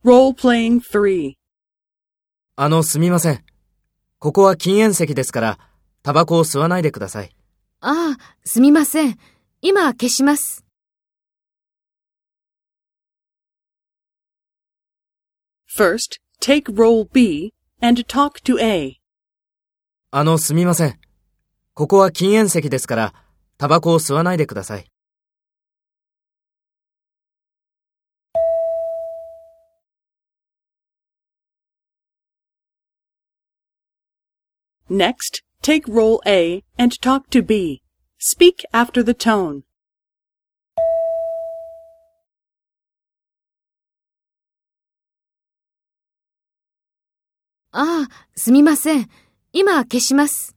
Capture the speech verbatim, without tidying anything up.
Role-playing three. あの、すみません。ここは禁煙席ですから、タバコを吸わないでください。 ああ、すみません。今消します。 First, take role B and talk to A. あの、すみません。ここは禁煙席ですから、タバコを吸わないでください。 Next, take role A and talk to B. Speak after the tone. ああ、すみません。今消します。